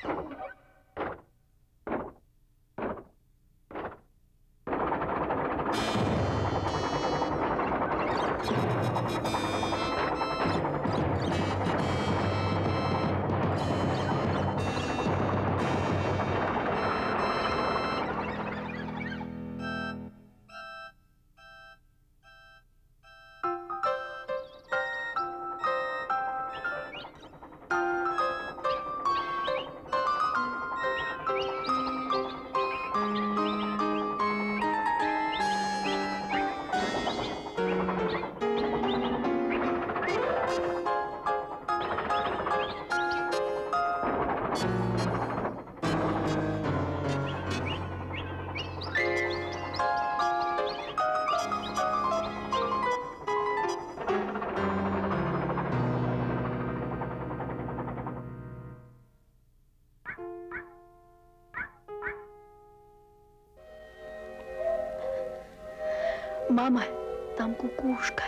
Мама, там кукушка.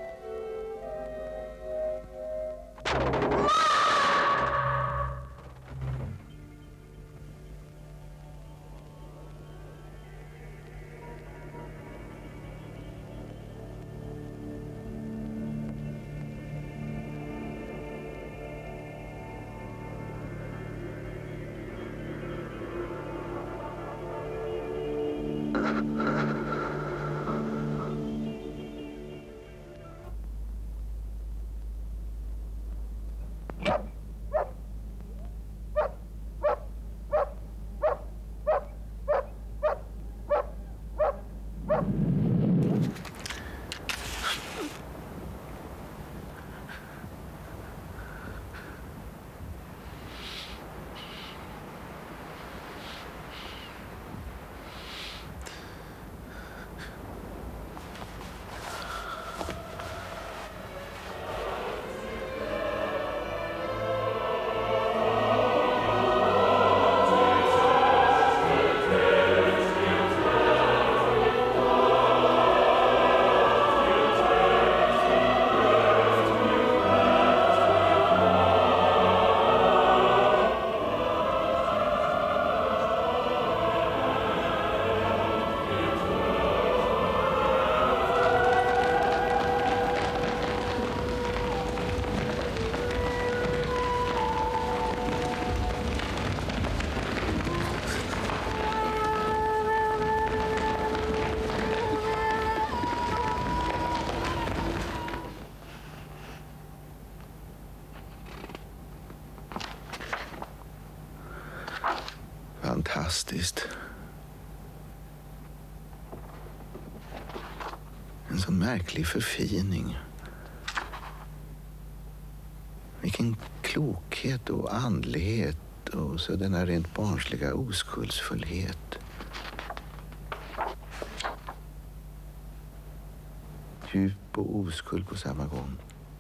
Fantastiskt. En sån märklig förfining. Vilken klokhet och andlighet och så denna rent barnsliga oskuldsfullhet. Djup och oskuld på samma gång.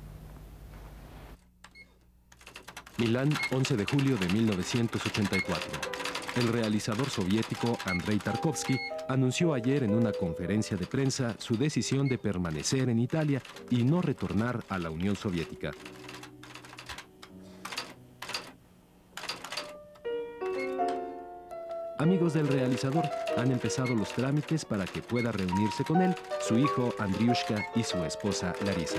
Milán, 11 de julio de 1984. El realizador soviético Andrei Tarkovsky anunció ayer en una conferencia de prensa su decisión de permanecer en Italia y no retornar a la Unión Soviética. Amigos del realizador han empezado los trámites para que pueda reunirse con él, su hijo Andriushka y su esposa Larisa.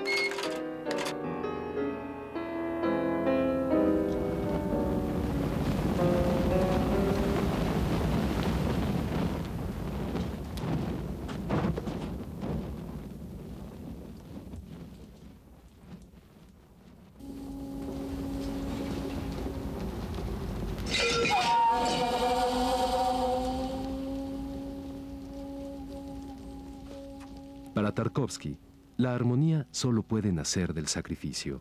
Para Tarkovsky, la armonía solo puede nacer del sacrificio.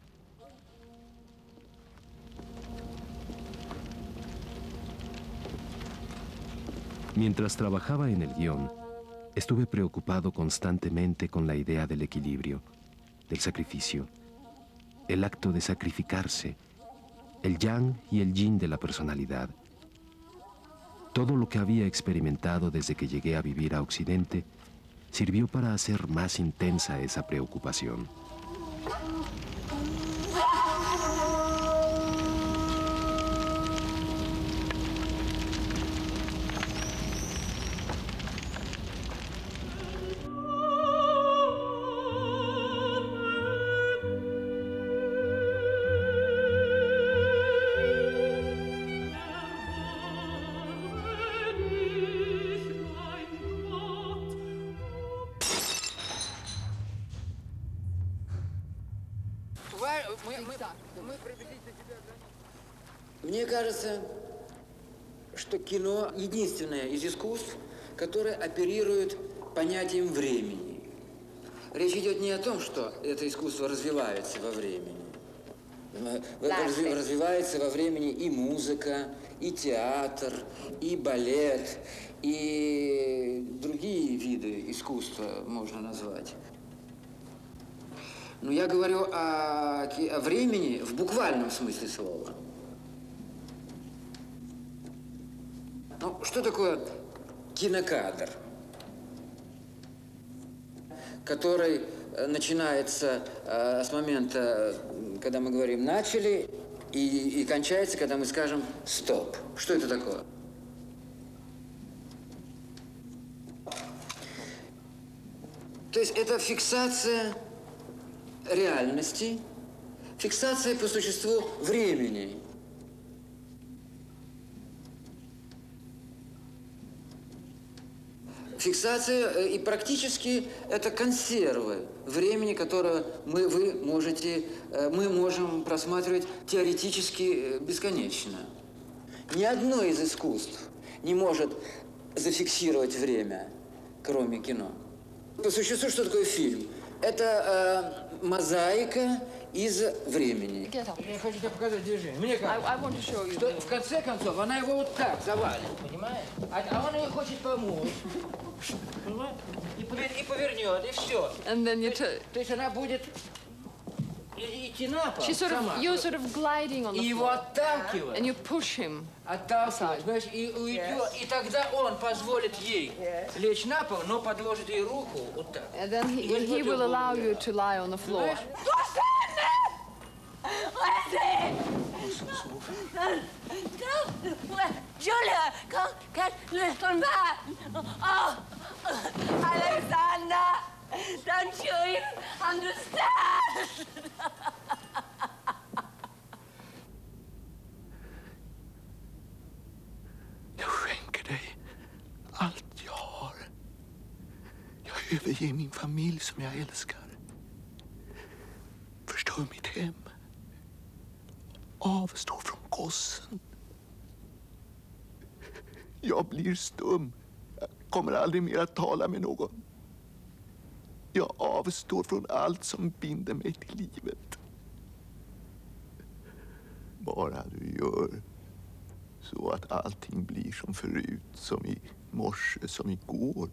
Mientras trabajaba en el guión, estuve preocupado constantemente con la idea del equilibrio, del sacrificio, el acto de sacrificarse, el yang y el yin de la personalidad. Todo lo que había experimentado desde que llegué a vivir a Occidente sirvió para hacer más intensa esa preocupación. Мне кажется, что кино единственное из искусств, которое оперирует понятием времени. Речь идет не о том, что это искусство развивается во времени. Развивается во времени и музыка, и театр, и балет, и другие виды искусства можно назвать. Но я говорю о времени в буквальном смысле слова. Ну, что такое кинокадр, который начинается с момента, когда мы говорим «начали», и кончается, когда мы скажем «стоп». Что это такое? То есть это фиксация реальности, фиксация по существу времени. Фиксация и практически это консервы времени, которое мы можем просматривать теоретически бесконечно. Ни одно из искусств не может зафиксировать время, кроме кино. По существу, что такое фильм? Это мозаика из времени. Я хочу тебе показать движение. Мне кажется, что в конце концов она его вот так завалит, понимаешь? А он ей хочет помочь. Понимаешь? И повернет, и все. And then you То есть она будет идти на пол сама. you're sort of gliding on И the его floor. отталкивать. And you push him. Отталкивать, знаешь, и уйдет. И тогда он позволит ей лечь на пол, но подложит ей руку вот так. And then he will allow you to lie on the floor. Julia, kan lyssna med. Oh, Alexander, don't you even understand? Jag skänker dig allt jag har. Jag överger min familj som jag älskar. Förstör mitt hem. Avstå från gossen. Jag blir stum. Jag kommer aldrig mer att tala med någon. Jag avstår från allt som binder mig till livet. Bara du gör så att allting blir som förut, som i morse, som igår.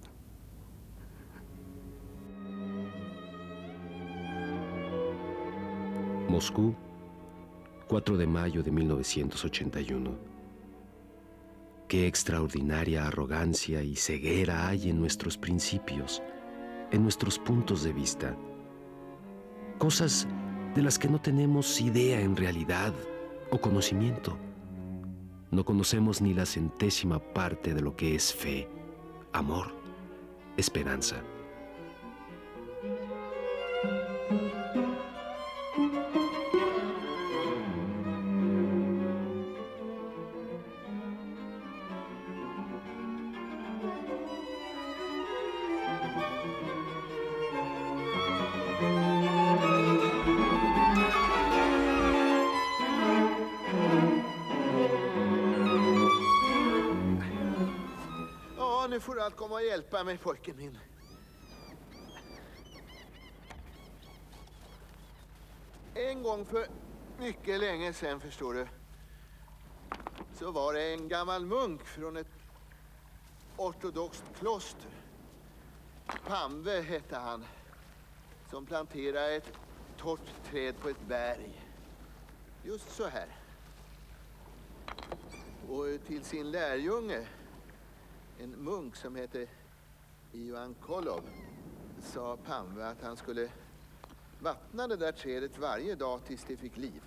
Moscú, 4 de mayo de 1981. Qué extraordinaria arrogancia y ceguera hay en nuestros principios, en nuestros puntos de vista. Cosas de las que no tenemos idea en realidad o conocimiento. No conocemos ni la centésima parte de lo que es fe, amor, esperanza. Nu får du allt komma och hjälpa mig, pojken min. En gång för mycket länge sedan, förstår du, så var det en gammal munk från ett ortodoxt kloster. Pamve hette han, som planterade ett torrt träd på ett berg. Just så här. Och till sin lärjunge, en munk som heter Ivan Kolov, sa Pamve att han skulle vattna det där trädet varje dag tills det fick liv.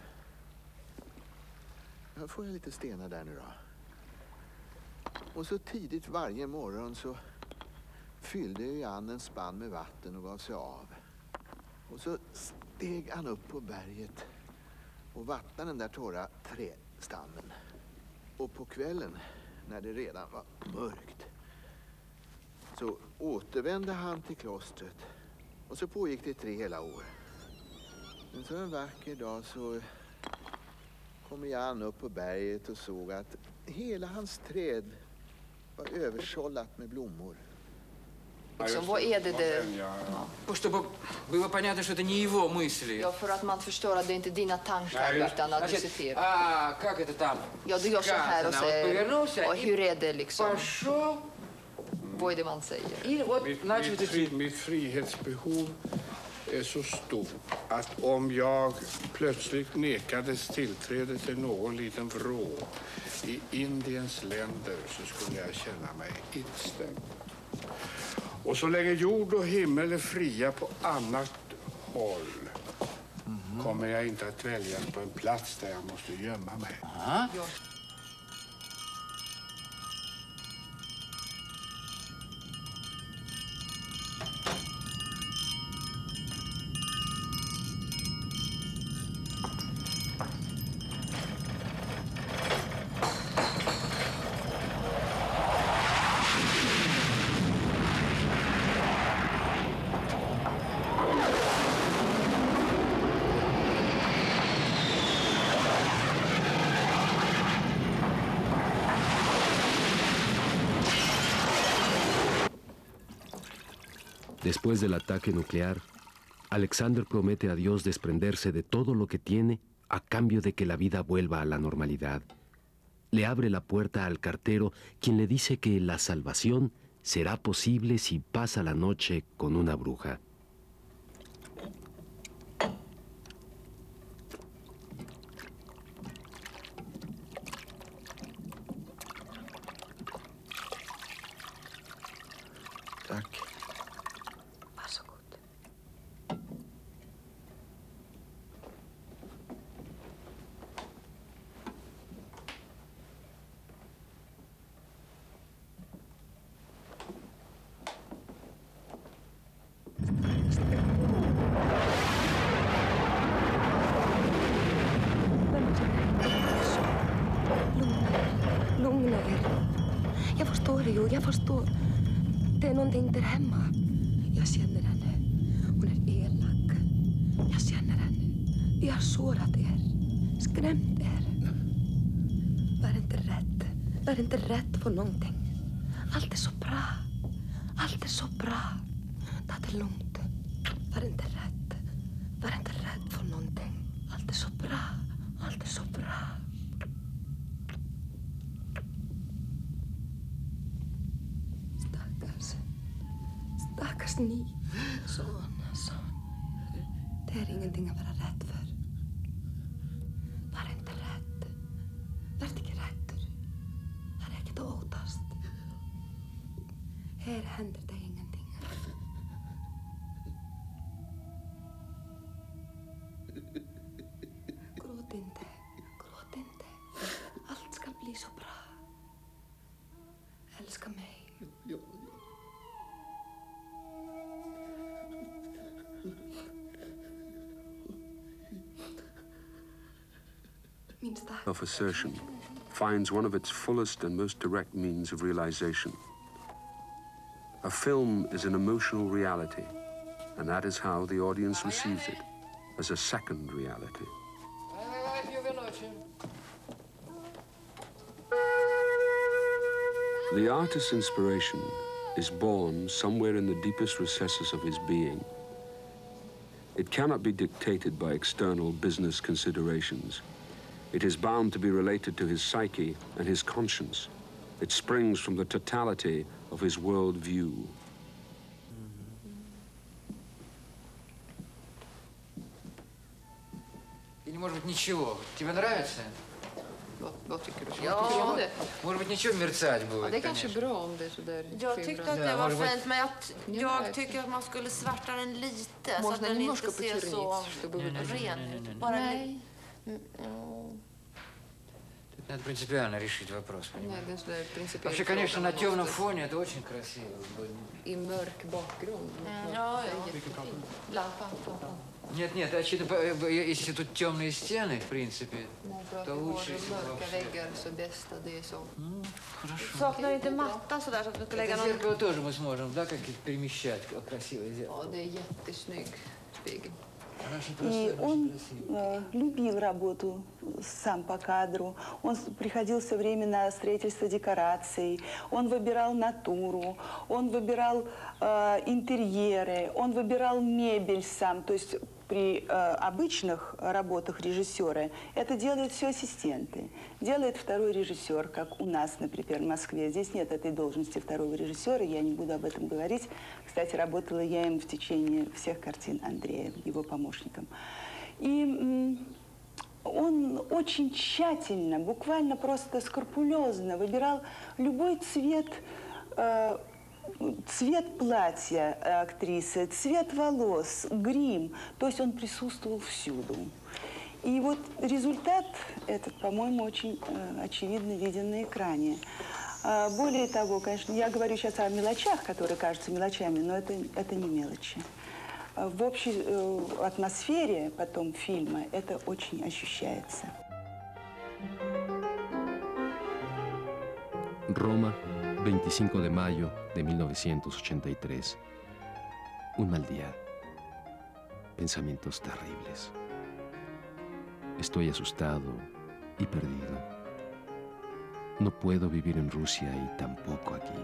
Här får jag lite stenar där nu då. Och så tidigt varje morgon så fyllde Jan en spann med vatten och gav sig av. Och så steg han upp på berget och vattnade den där torra trädstammen. Och på kvällen, när det redan var mörkt, så återvände han till klostret. Och så pågick det 3 hela år. Men så en vacker dag så kom Jan upp på berget och såg att hela hans träd var översållat med blommor. Liksom, vad är det? Чтобы было понятно, что это не его мысли. Ja, för att man förstår att det inte är dina tankar utan att du citerar. Как это там? Ja, du gör så här och säger, och hur är det liksom? Пошел. Vad är det man säger? И вот начал это... Mitt frihetsbehov är så stort att om jag plötsligt nekades tillträde till någon liten vrå i Indiens länder så skulle jag känna mig instämd. Och så länge jord och himmel är fria på annat håll kommer jag inte att väljas på en plats där jag måste gömma mig. Después del ataque nuclear, Alexander promete a Dios desprenderse de todo lo que tiene a cambio de que la vida vuelva a la normalidad. Le abre la puerta al cartero, quien le dice que la salvación será posible si pasa la noche con una bruja. Tack. Varsågod. Lugna er. Jag förstår ju, jag förstår. Det är någonting där hemma. Jag känner henne. Hon är elak. Jag känner henne. Jag har sårat er. Skrämt er. Var inte rädd. Var inte rädd för någonting. Allt är så bra. Allt är så bra. Ta det lugnt. Var inte rädd. Var inte rädd för någonting. Allt är så bra. Allt är så bra. Stackars ni. Son. Det är ingenting att vara rädd för. Var inte rädd. Var inte rädd. Var inte åtast. Här händer det ingenting. Gråt inte. Gråt inte. Allt ska bli så bra. Älska mig. Self-assertion finds one of its fullest and most direct means of realization. A film is an emotional reality, and that is how the audience receives it, as a second reality. The artist's inspiration is born somewhere in the deepest recesses of his being. It cannot be dictated by external business considerations. It is bound to be related to his psyche and his conscience. It springs from the totality of his world view. Или, может быть, ничего. Тебе нравится? Vad tycker du? Ja. Может быть, nичего мерцать будет. Ja, det är kanske bra om det är så där. Jag tyckte att det var fint, men jag tycker att man skulle svärta den lite så att den inte ser så ren ut. Bara lite. Тут надо принципиально решить вопрос, понимаешь? Nej, det är principiellt. Вообще, конечно, на темном фоне это очень красиво. I mörk bakgrund. Ja. Lampan. Нет, очевидно, если тут темные стены, в принципе, то лучше... Mörka väggar så bästa det är så. Хорошо. Saknar inte matta sådär så att vi ska lägga Это någon... зеркало тоже мы сможем, да, как перемещать красиво сделать. Ja, det är jättesnygg spegel. И он любил работу сам по кадру. Он приходил все время на строительство декораций. Он выбирал натуру, он выбирал интерьеры, он выбирал мебель сам. То есть при обычных работах режиссера это делают все ассистенты. Делает второй режиссер, как у нас, например, в Москве. Здесь нет этой должности второго режиссера, я не буду об этом говорить. Кстати, работала я им в течение всех картин Андрея, его помощником. И он очень тщательно, буквально просто скрупулезно выбирал любой цвет, цвет платья актрисы, цвет волос, грим. То есть он присутствовал всюду. И вот результат этот, по-моему, очень очевидно виден на экране. Более того, конечно, я говорю сейчас о мелочах, которые кажутся мелочами, но это не мелочи. В общей атмосфере потом фильма это очень ощущается. Roma, 25 de mayo de 1983. Un mal día. Pensamientos terribles. Estoy asustado y perdido. No puedo vivir en Rusia y tampoco aquí.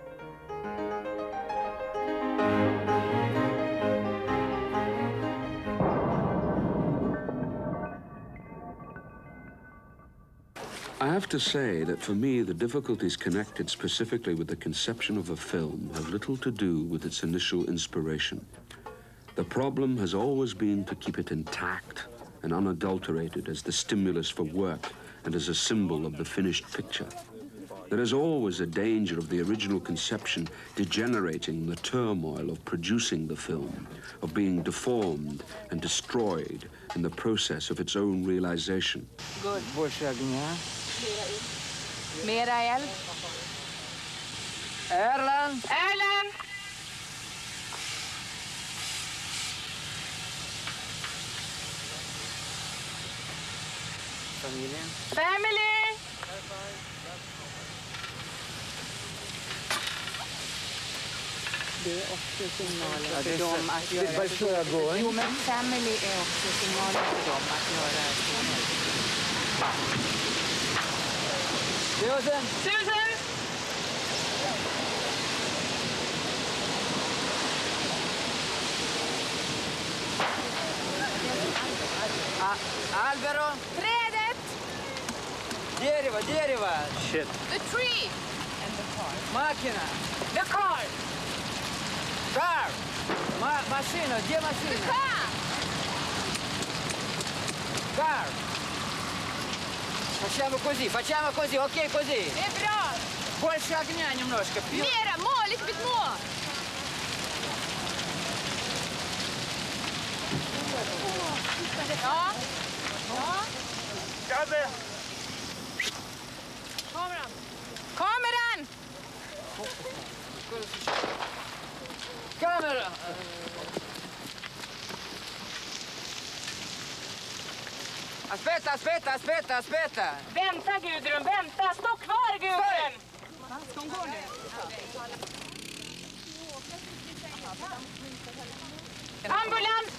I have to say that for me, the difficulties connected specifically with the conception of a film have little to do with its initial inspiration. The problem has always been to keep it intact and unadulterated as the stimulus for work and as a symbol of the finished picture. There is always a danger of the original conception degenerating in the turmoil of producing the film, of being deformed and destroyed in the process of its own realization. Good. Больше огня. Mera eld. Erland! Erland! Familjen. Family! Det är också signaler för dem att göra det. Jo, men family är också signaler för dem att göra det. Susan! Susan! Alvaro! Trädet! Дерево! Shit. The tree! And the car. Макина! The car! Car! Машина! Где The машина? car! Car! Facciamo così, ok così. Det är bra! Больше огня немножко. Mera, more, lite bit more! Ja. Ja. Kameran! Kameran! Камера! Aspetta! Vänta, Gudrun, vänta! Stå kvar, Gudrun! Ska hon gå nu? Ambulans!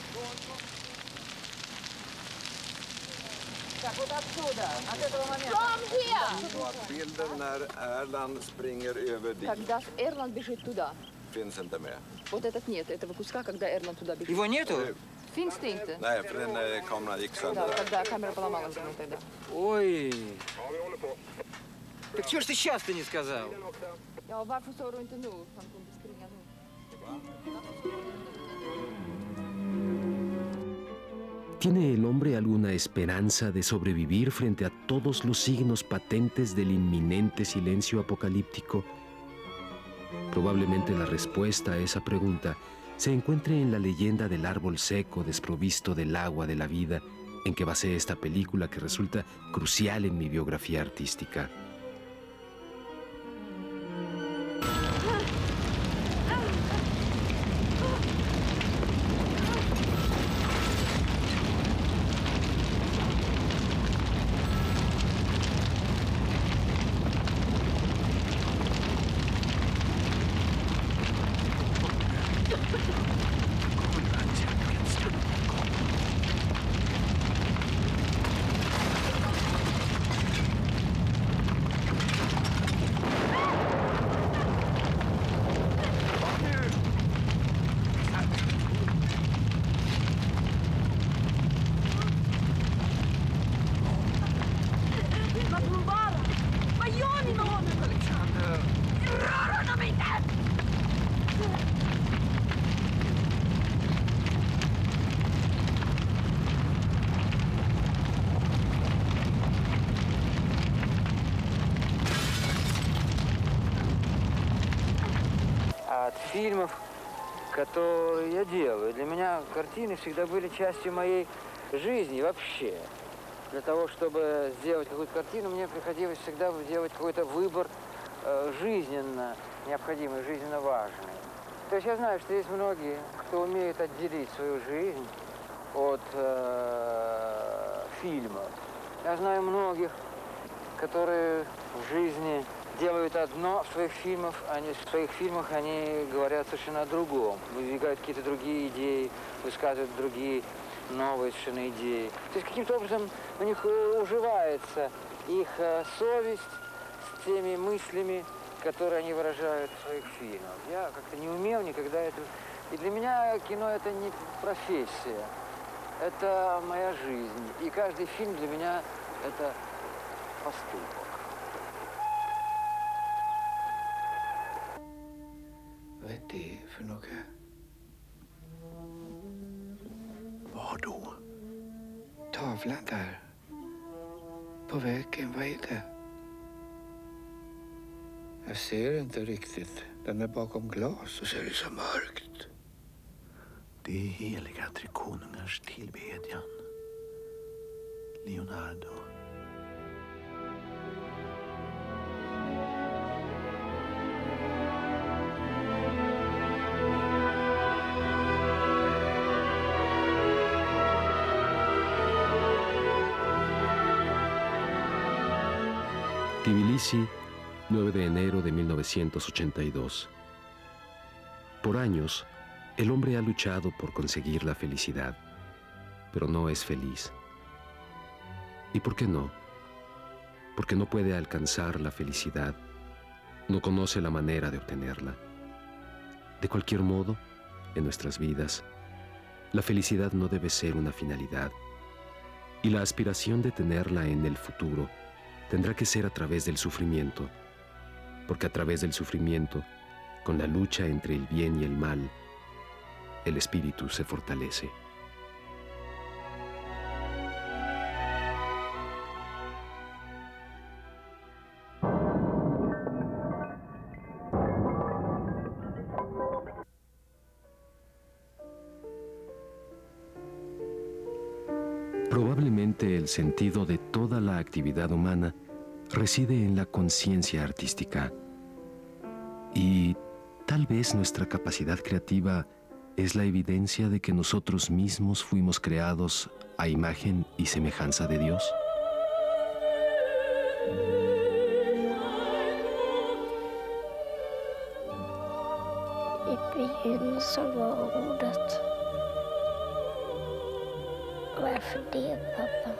From here! Bilden när Erland springer över dit. Когда Эрланд бежит туда. Finns inte med. Вот этот нет, этого куска, когда Эрланд туда бежит. Его нету? Finns det inte? Nej, för den kameran gick sönder. Да, когда камера поломалась тогда. Ой. Так чего ж ты сейчас-то не сказал? Ja, varför sa du inte nu? Han kunde springa nu. ¿Tiene el hombre alguna esperanza de sobrevivir frente a todos los signos patentes del inminente silencio apocalíptico? Probablemente la respuesta a esa pregunta se encuentre en la leyenda del árbol seco desprovisto del agua de la vida en que basé esta película que resulta crucial en mi biografía artística. от фильмов, которые я делаю. Для меня картины всегда были частью моей жизни вообще. Для того, чтобы сделать какую-то картину, мне приходилось всегда делать какой-то выбор жизненно необходимый, жизненно важный. То есть я знаю, что есть многие, кто умеет отделить свою жизнь от фильмов. Я знаю многих, которые в жизни делают одно, в своих фильмах они говорят совершенно о другом, выдвигают какие-то другие идеи, высказывают другие новые совершенно идеи. То есть каким-то образом у них уживается их совесть с теми мыслями, которые они выражают в своих фильмах. Я как-то не умел никогда это... И для меня кино — это не профессия, это моя жизнь. И каждый фильм для меня — это поступок. Vad är det för något? Var då? Tavlan där. På väggen, vad är det? Jag ser inte riktigt. Den är bakom glas och så är det så mörkt. Det är heliga tre konungars tillbedjan. Leonardo. Tbilisi, 9 de enero de 1982. Por años, el hombre ha luchado por conseguir la felicidad, pero no es feliz. ¿Y por qué no? Porque no puede alcanzar la felicidad, no conoce la manera de obtenerla. De cualquier modo, en nuestras vidas, la felicidad no debe ser una finalidad, y la aspiración de tenerla en el futuro tendrá que ser a través del sufrimiento, porque a través del sufrimiento, con la lucha entre el bien y el mal, el espíritu se fortalece. Probablemente el sentido de toda la actividad humana reside en la conciencia artística. Y tal vez nuestra capacidad creativa es la evidencia de que nosotros mismos fuimos creados a imagen y semejanza de Dios. I begynnelsen var ordet. Varför det, pappa?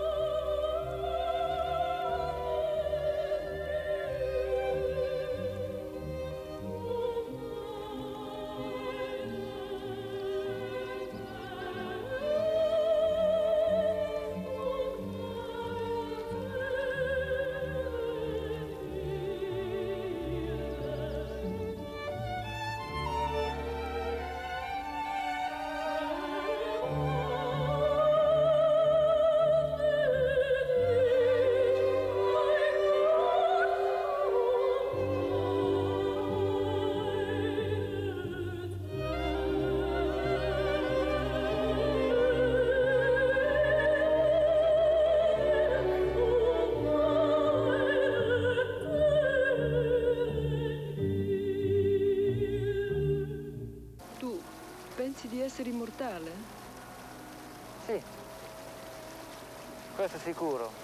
Di essere immortale? Sì, questo è sicuro.